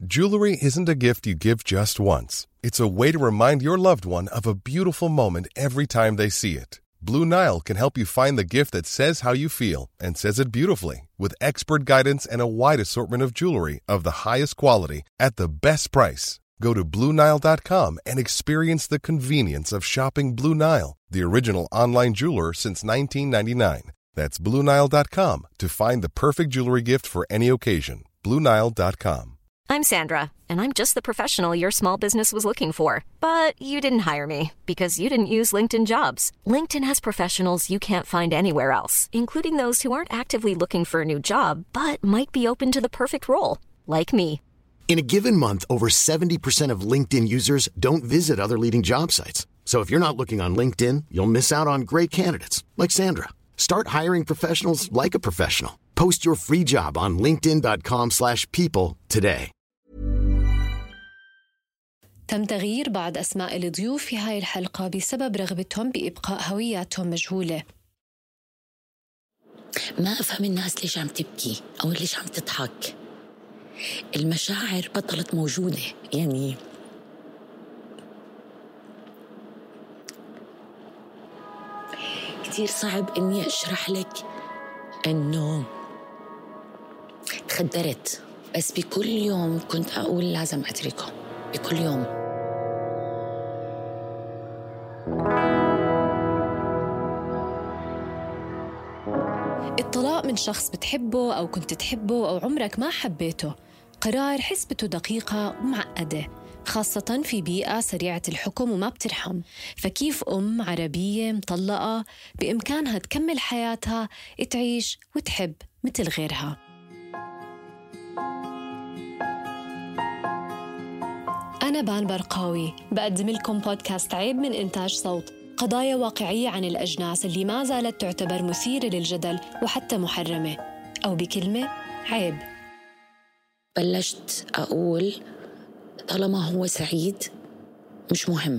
Jewelry isn't a gift you give just once. It's a way to remind your loved one of a beautiful moment every time they see it. Blue Nile can help you find the gift that says how you feel and says it beautifully, with expert guidance and a wide assortment of jewelry of the highest quality at the best price. Go to BlueNile.com and experience the convenience of shopping Blue Nile, the original online jeweler since 1999. That's BlueNile.com to find the perfect jewelry gift for any occasion. BlueNile.com. I'm Sandra, and I'm just the professional your small business was looking for. But you didn't hire me because you didn't use LinkedIn Jobs. LinkedIn has professionals you can't find anywhere else, including those who aren't actively looking for a new job, but might be open to the perfect role, like me. In a given month, over 70% of LinkedIn users don't visit other leading job sites. So if you're not looking on LinkedIn, you'll miss out on great candidates like Sandra. Start hiring professionals like a professional. Post your free job on linkedin.com/people today. تم تغيير بعض أسماء الضيوف في هاي الحلقة بسبب رغبتهم بإبقاء هوياتهم مجهولة. ما أفهم الناس ليش عم تبكي أو ليش عم تضحك. المشاعر بطلت موجودة، يعني كتير صعب إني أشرح لك إنه تخدرت، بس بكل يوم كنت أقول لازم أتركه، بكل يوم. الطلاق من شخص بتحبه أو كنت تحبه أو عمرك ما حبيته قرار حسبته دقيقة ومعقدة، خاصة في بيئة سريعة الحكم وما بترحم. فكيف أم عربية مطلقة بإمكانها تكمل حياتها، تعيش وتحب مثل غيرها؟ أنا بان برقاوي بقدم لكم بودكاست عيب من إنتاج صوت، قضايا واقعية عن الأجناس اللي ما زالت تعتبر مثيرة للجدل وحتى محرمة، أو بكلمة عيب. بلشت أقول طالما هو سعيد مش مهم،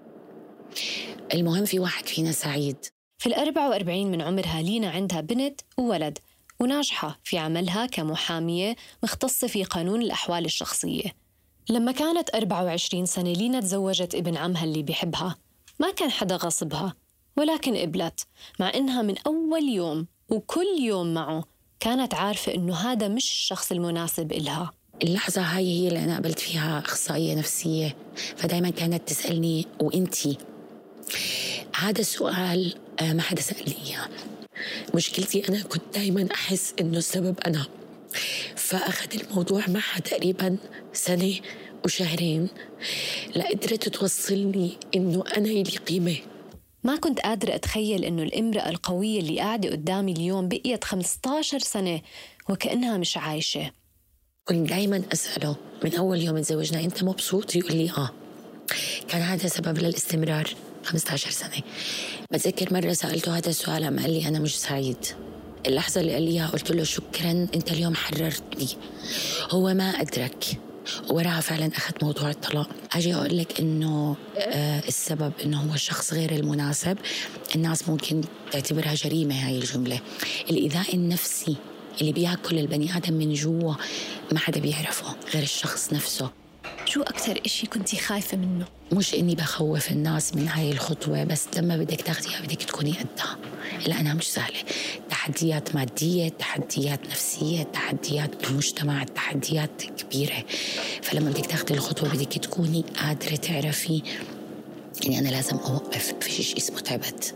المهم في واحد فينا سعيد. في 44 من عمرها لينا عندها بنت وولد وناجحة في عملها كمحامية مختصة في قانون الأحوال الشخصية. لما كانت 24 سنة لينا تزوجت ابن عمها اللي بيحبها، ما كان حدا غصبها ولكن قبلت، مع إنها من أول يوم وكل يوم معه كانت عارفة إنه هذا مش الشخص المناسب إلها. اللحظة هاي هي اللي أنا قابلت فيها أخصائية نفسية، فدايما كانت تسألني وإنتي؟ هذا السؤال ما حدا سألني إياه. مشكلتي أنا كنت دايما أحس إنه السبب أنا، فأخذ الموضوع معها تقريبا سنة وشهرين لقدرت توصلني إنه أنا إلي قيمة. ما كنت قادرة أتخيل إنه الامرأة القوية اللي قاعدة قدامي اليوم بقيت 15 سنة وكأنها مش عايشة. كنت دايما أسأله من أول يوم تزوجنا أنت مبسوط؟ يقول لي آه. كان هذا سبب للاستمرار 15 سنة. بتذكر مرة سألته هذا السؤال قام قال لي أنا مش سعيد. اللحظة اللي قال لي قلت له شكرا أنت اليوم حررتني. هو ما أدرك وراها فعلا أخذ موضوع الطلاق. أجي أقول لك إنه السبب إنه هو الشخص غير المناسب. الناس ممكن تعتبرها جريمة هاي الجملة. الإيذاء النفسي اللي بياكل البني آدم من جوا ما حدا بيعرفه غير الشخص نفسه. شو أكتر إشي كنتي خايفة منه؟ مش إني بخوف الناس من هاي الخطوة، بس لما بدك تاخديها بدك تكوني قدها، لأنها مش سهلة. تحديات مادية، تحديات نفسية، تحديات بالمجتمع، تحديات كبيرة. فلما بدك تاخدي الخطوة بدك تكوني قادرة تعرفي إني أنا لازم أوقف، في شيء اسمه تعبت.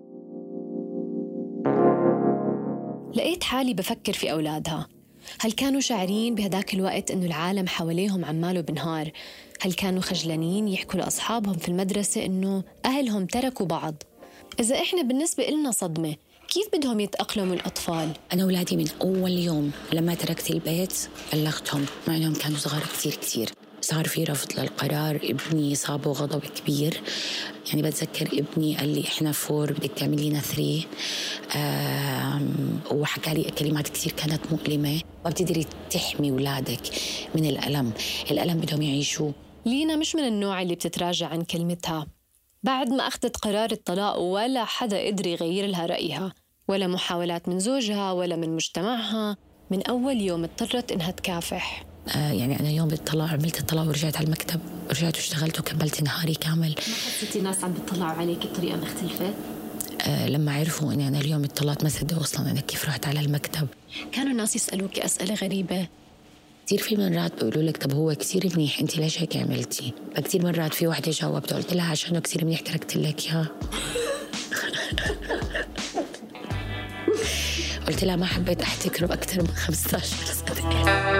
لقيت حالي بفكر في أولادها. هل كانوا شاعرين بهداك الوقت إنه العالم حواليهم عماله بنهار؟ هل كانوا خجلانين يحكوا لأصحابهم في المدرسة إنه أهلهم تركوا بعض؟ إذا إحنا بالنسبة إلنا صدمة، كيف بدهم يتأقلموا الأطفال؟ أنا أولادي من أول يوم لما تركت البيت بلغتهم، مع أنهم كانوا صغار كتير. صار في رفض للقرار. ابني صابه غضب كبير. يعني بتذكر ابني قال لي إحنا 4 بدك تعملينا 3. وحكى لي كلمات كتير كانت مؤلمة. ما بتقدري تحمي أولادك من الألم بدهم يعيشوه. لينا مش من النوع اللي بتتراجع عن كلمتها. بعد ما أخذت قرار الطلاق ولا حدا قدر يغير لها رأيها، ولا محاولات من زوجها ولا من مجتمعها. من أول يوم اضطرت إنها تكافح. يعني أنا يوم بالطلاق عملت الطلاق ورجعت على المكتب، رجعت واشتغلت وكملت نهاري كامل. ما حسيتي ناس عم بيطلعوا عليك بطريقة مختلفة؟ لما عرفوا أني أنا اليوم اتطلعت ما صدقوا أصلاً أنا كيف رحت على المكتب. كانوا الناس يسألوك أسئلة غريبة كتير. في مرات بيقولوا لك طب هو كتير منيح أنت ليش هيك عملتي؟ فكتير مرات في واحدة جاوبت قلت لها عشانه كتير منيح تركت لك إياه. قلت لها ما حبيت أحتكره أكثر من 15 سنة.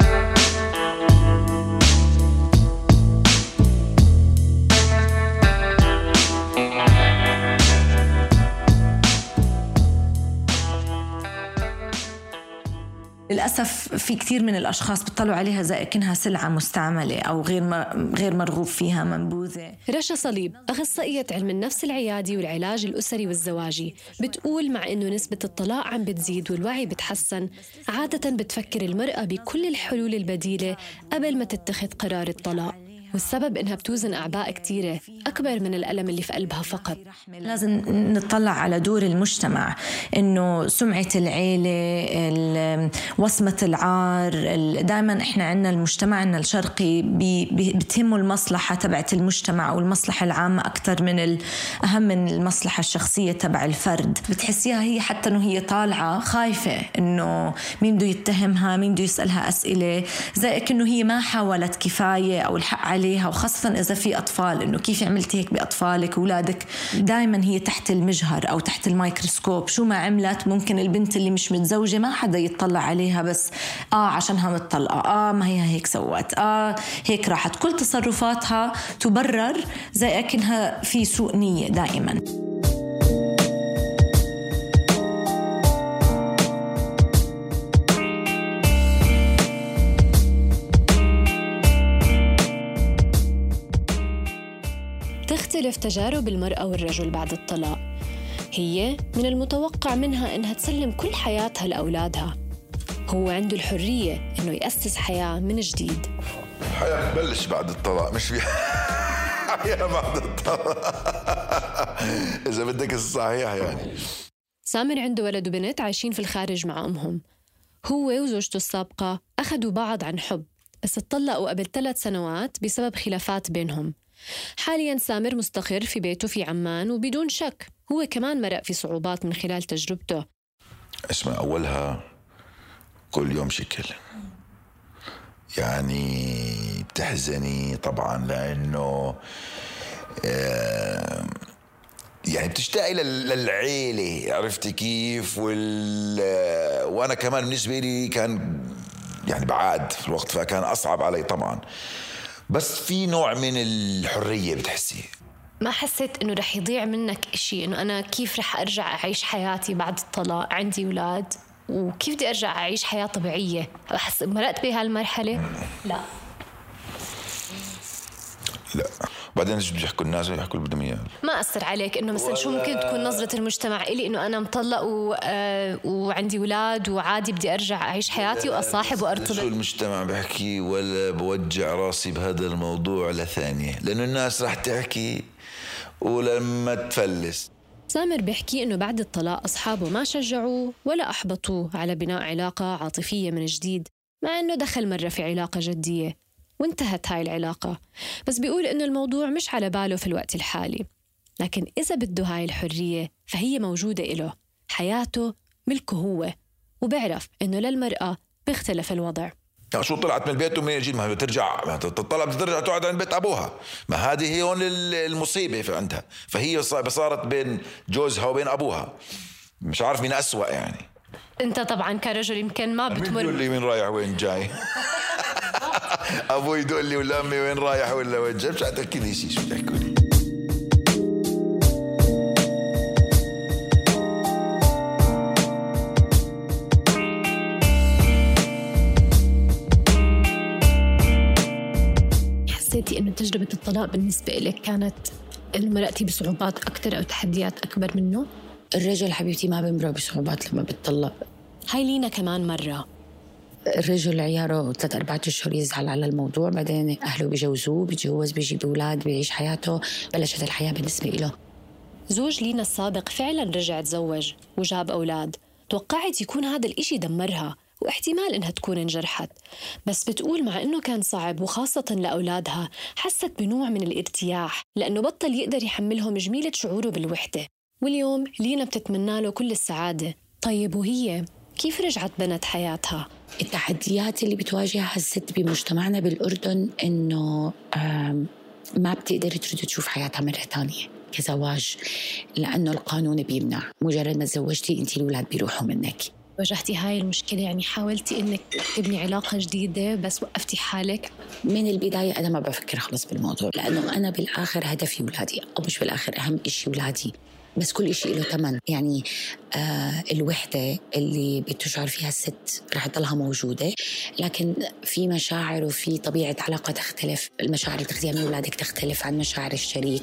للأسف في كثير من الأشخاص بيطلعوا عليها زي كأنها سلعة مستعملة أو غير مرغوب فيها، منبوذة. رشا صليب أخصائية علم النفس العيادي والعلاج الأسري والزواجي بتقول مع إنه نسبة الطلاق عم بتزيد والوعي بتحسن، عادة بتفكر المرأة بكل الحلول البديلة قبل ما تتخذ قرار الطلاق، والسبب إنها بتوزن أعباء كتيرة أكبر من الألم اللي في قلبها فقط. لازم نطلع على دور المجتمع، إنه سمعة العيلة، وصمة العار. دائما إحنا عنا المجتمع عنا الشرقي بتهمه المصلحة تبعت المجتمع أو المصلحة العامة أكثر من أهم من المصلحة الشخصية تبع الفرد. بتحسيها هي حتى إنه هي طالعة خايفة إنه مين بده يتهمها، مين بده يسألها أسئلة، زي إنه هي ما حاولت كفاية أو الحق عليها، وخاصة إذا في أطفال، إنه كيف عملتي هيك بأطفالك وولادك. دائما هي تحت المجهر أو تحت الميكروسكوب. شو ما عملت ممكن البنت اللي مش متزوجة ما حدا يتطلع عليها، بس عشانها متطلقة، ما هي هيك سوت، هيك راحت. كل تصرفاتها تبرر زي أكنها في سوء نية دائما. تختلف تجارب المرأة والرجل بعد الطلاق. هي من المتوقع منها إنها تسلم كل حياتها لأولادها، هو عنده الحرية إنه يأسس حياة من جديد. الحياة بتبلش بعد الطلاق، مش في حياة بعد الطلاق إذا بدك الصحيح يعني. سامر عنده ولد وبنت عايشين في الخارج مع أمهم. هو وزوجته السابقة أخذوا بعض عن حب، بس اتطلقوا قبل 3 سنوات بسبب خلافات بينهم. حالياً سامر مستقر في بيته في عمان، وبدون شك هو كمان مرق في صعوبات من خلال تجربته. اسمع، أولها كل يوم شكل، يعني بتحزني طبعاً لأنه يعني بتشتاقي للعيلة، عرفتي كيف؟ وأنا كمان بالنسبة لي كان يعني بعاد في الوقت، فكان أصعب علي طبعاً، بس في نوع من الحرية بتحسي. ما حسيت إنه رح يضيع منك إشي؟ إنه أنا كيف رح أرجع أعيش حياتي بعد الطلاق؟ عندي أولاد وكيف بدي أرجع أعيش حياة طبيعية؟ أحس مرقت بهالمرحلة؟ لا. بعدين ايش بده يحكوا الناس؟ يحكوا اللي بدهم اياه. ما أثر عليك إنه مثلا شو ممكن تكون نظرة المجتمع إلي إنه أنا مطلق وعندي أولاد وعادي بدي أرجع أعيش حياتي وأصاحب وأرتبط؟ شو المجتمع بحكي ولا بوجع راسي بهذا الموضوع لثانية، لأنه الناس رح تحكي ولما تفلس. سامر بيحكي إنه بعد الطلاق أصحابه ما شجعوه ولا أحبطوه على بناء علاقة عاطفية من جديد، مع إنه دخل مرة في علاقة جدية وانتهت هاي العلاقة. بس بيقول إنه الموضوع مش على باله في الوقت الحالي، لكن إذا بده هاي الحرية فهي موجودة إله، حياته ملكه هو، وبعرف إنه للمرأة بيختلف الوضع. شو طلعت من البيت ومن يجي ما ترجع، تطلع بترجع تقعد عند بيت أبوها، ما هذه هي هون المصيبة في عندها. فهي صارت بين جوزها وبين أبوها، مش عارف مين أسوأ يعني. أنت طبعا كرجل يمكن ما بتمر. يقول لي وين رايح وين جاي أبوي يقول لي ولا أمي وين رايح ولا وين جاي، مش هتحكي لي شيء، شو بتحكوا لي؟ حسيتي إنه تجربة الطلاق بالنسبة لك كانت مرقتي بصعوبات أكثر أو تحديات أكبر منه؟ الرجل حبيبتي ما بيمرق بصعوبات لما بتطلق. هاي لينا كمان مرة الرجل عياره 3-4 أشهر يزعل على الموضوع، بعدين أهله بيجوزوه، بيتجوز، بيجيب أولاد، بيعيش حياته، بلشت الحياة بالنسبة له. زوج لينا السابق فعلا رجع تزوج وجاب أولاد. توقعت يكون هذا الإشي دمرها، واحتمال إنها تكون انجرحت، بس بتقول مع إنه كان صعب وخاصة لأولادها حست بنوع من الارتياح لأنه بطل يقدر يحملهم جميلة شعوره بالوحدة. واليوم لينا بتتمنى له كل السعادة. طيب وهي كيف رجعت بنت حياتها؟ التحديات اللي بتواجهها الست بمجتمعنا بالأردن إنه ما بتقدر ترد تشوف حياتها مرة تانية كزواج، لأنه القانون بيمنع. مجرد ما تزوجتي أنتي الأولاد بيروحوا منك. واجهتي هاي المشكلة؟ يعني حاولتي إنك تبني علاقة جديدة بس وقفتي حالك؟ من البداية أنا ما بفكر خلص بالموضوع، لأنه أنا بالآخر هدفي ولادي، أو مش بالآخر أهم إشي ولادي، بس كل إشي له ثمن. يعني الوحدة اللي بتشعر فيها الست رح تضلها موجودة، لكن في مشاعر وفي طبيعة علاقة تختلف. المشاعر اللي تاخذيها من أولادك تختلف عن مشاعر الشريك.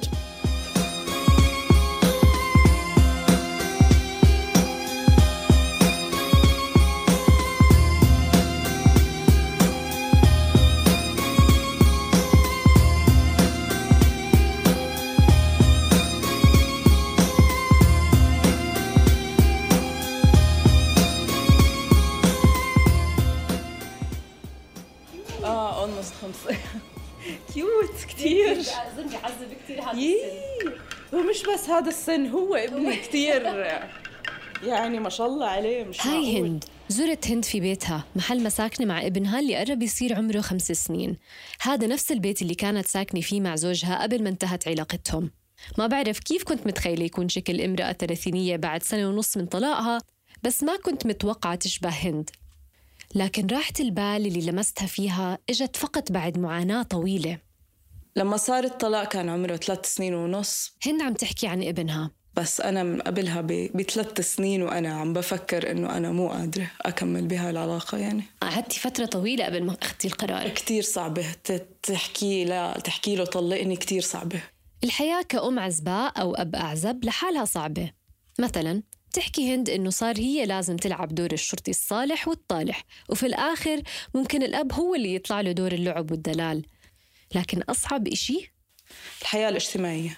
كيوت كتير. زلمة عذب كتير هذا السن. هو مش بس هذا السن، هو ابني كتير يعني ما شاء الله عليه. مش هاي معقول. هند. زرت هند في بيتها محل مساكنة مع ابنها اللي قرب يصير عمره 5 سنين. هذا نفس البيت اللي كانت ساكنة فيه مع زوجها قبل ما انتهت علاقتهم. ما بعرف كيف كنت متخيلة يكون شكل امرأة 30 بعد 1.5 سنة من طلاقها، بس ما كنت متوقعة تشبه هند. لكن راحة البال اللي لمستها فيها اجت فقط بعد معاناة طويلة. لما صار الطلاق كان عمره 3.5 سنين. هند عم تحكي عن ابنها، بس أنا من قبلها ب3 سنين وأنا عم بفكر إنه أنا مو قادرة أكمل بهاي العلاقة. يعني قعدتي فترة طويلة قبل ما أخذتي القرار. كتير صعبة تحكي له طلقني، كتير صعبة. الحياة كأم عزباء أو أب أعزب لحالها صعبة. مثلاً تحكي هند إنه صار هي لازم تلعب دور الشرطي الصالح والطالح، وفي الآخر ممكن الأب هو اللي يطلع له دور اللعب والدلال. لكن أصعب إشي الحياة الاجتماعية.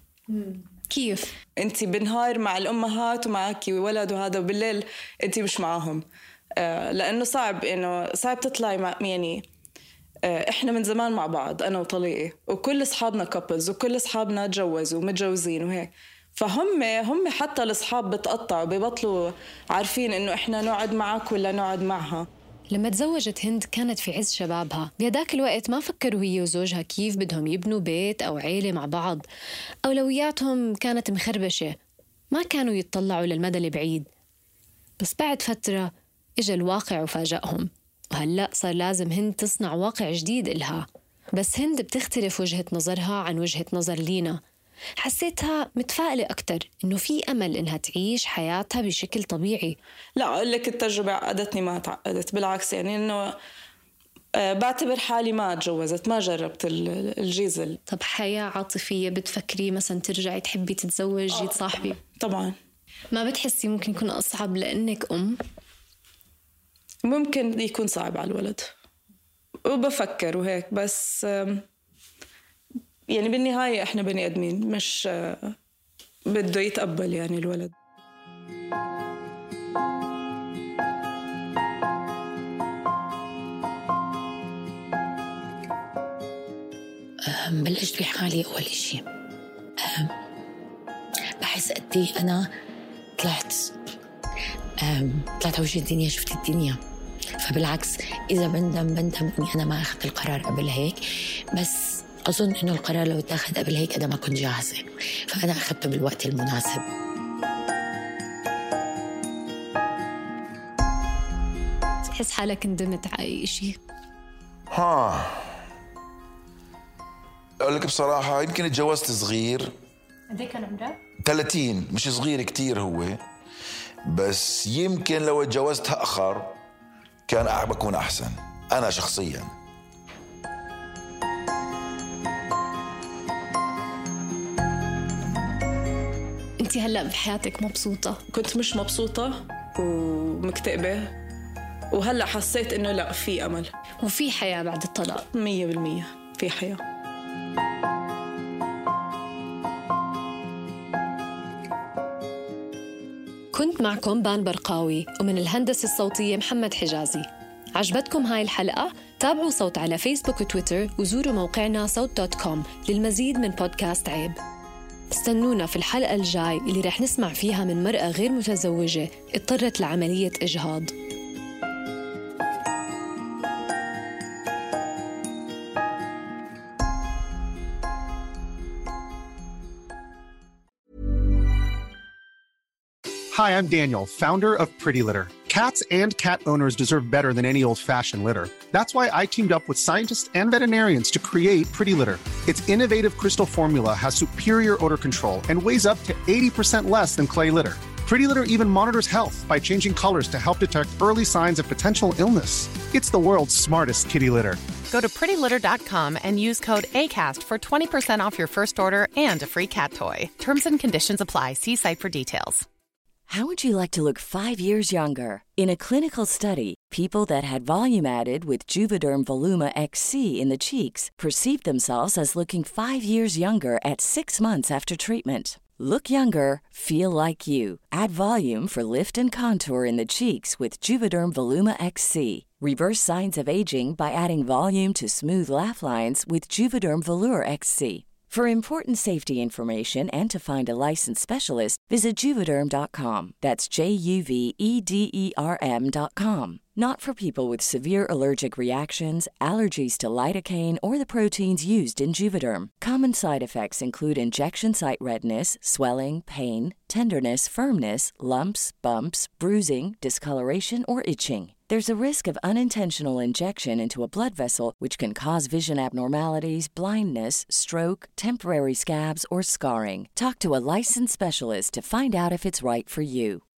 كيف؟ أنتي بالنهار مع الأمهات ومعك ولد وهذا، وبالليل أنتي مش معاهم. لأنه صعب تطلعي مع يعني إحنا من زمان مع بعض أنا وطليقي، وكل أصحابنا كابلز، وكل أصحابنا تجوزوا ومتجوزين وهيك. فهم حتى الأصحاب بتقطعوا، بيبطلوا عارفين إنه إحنا نقعد معك ولا نقعد معها. لما تزوجت هند كانت في عز شبابها. بهداك الوقت ما فكروا هي وزوجها كيف بدهم يبنوا بيت أو عيلة مع بعض. أولوياتهم كانت مخربشة، ما كانوا يتطلعوا للمدى البعيد. بس بعد فترة إجا الواقع وفاجأهم، وهلأ صار لازم هند تصنع واقع جديد إلها. بس هند بتختلف وجهة نظرها عن وجهة نظر لينا. حسيتها متفائلة أكتر إنه في أمل إنها تعيش حياتها بشكل طبيعي. لا أقول لك التجربة عقدتني، ما تعقدت، بالعكس. يعني إنه بعتبر حالي ما تجوزت، ما جربت الجيزل. طب حياة عاطفية بتفكري مثلا ترجعي تحبي تتزوجي تصاحبي؟ طبعا. ما بتحسي ممكن يكون أصعب لأنك أم؟ ممكن يكون صعب على الولد، وبفكر وهيك، بس يعني بالنهاية إحنا بني آدمين، مش بده يتقبل يعني الولد. بلشت بحالي أول إشي. بحس قدي أنا طلعت على وجه الدنيا، شفت الدنيا. فبالعكس إذا بندم إني أنا ما أخذت القرار قبل هيك، بس أظن إنه القرار لو اتاخذ قبل هيك أنا ما كنت جاهزة، فأنا أخذته بالوقت المناسب. تحس حالك ندمت على أي إشي؟ أقول لك بصراحة يمكن اتجوزت صغير. قد ايه كان عمرك؟ 30، مش صغير كتير هو، بس يمكن لو اتجوزت أخر كان بكون أحسن أنا شخصياً. أنت هلأ بحياتك مبسوطة؟ كنت مش مبسوطة ومكتئبة، وهلأ حسيت إنه لا، في أمل وفي حياة بعد الطلاق. 100% في حياة. كنت معكم بان برقاوي، ومن الهندسة الصوتية محمد حجازي. عجبتكم هاي الحلقة؟ تابعوا صوت على فيسبوك وتويتر، وزوروا موقعنا صوت.com للمزيد من بودكاست عيب. استنونا في الحلقة الجاي اللي رح نسمع فيها من مرأة غير متزوجة اضطرت لعملية إجهاض. Hi, I'm Daniel, founder of Pretty Litter. Cats and cat owners deserve better than any old-fashioned litter. That's why I teamed up with scientists and veterinarians to create Pretty Litter. Its innovative crystal formula has superior odor control and weighs up to 80% less than clay litter. Pretty Litter even monitors health by changing colors to help detect early signs of potential illness. It's the world's smartest kitty litter. Go to prettylitter.com and use code ACAST for 20% off your first order and a free cat toy. Terms and conditions apply. See site for details. How would you like to look 5 years younger? In a clinical study, people that had volume added with Juvederm Voluma XC in the cheeks perceived themselves as looking 5 years younger at 6 months after treatment. Look younger, feel like you. Add volume for lift and contour in the cheeks with Juvederm Voluma XC. Reverse signs of aging by adding volume to smooth laugh lines with Juvederm Volure XC. For important safety information and to find a licensed specialist, visit Juvederm.com. That's JUVEDERM.com. Not for people with severe allergic reactions, allergies to lidocaine, or the proteins used in Juvederm. Common side effects include injection site redness, swelling, pain, tenderness, firmness, lumps, bumps, bruising, discoloration, or itching. There's a risk of unintentional injection into a blood vessel, which can cause vision abnormalities, blindness, stroke, temporary scabs, or scarring. Talk to a licensed specialist to find out if it's right for you.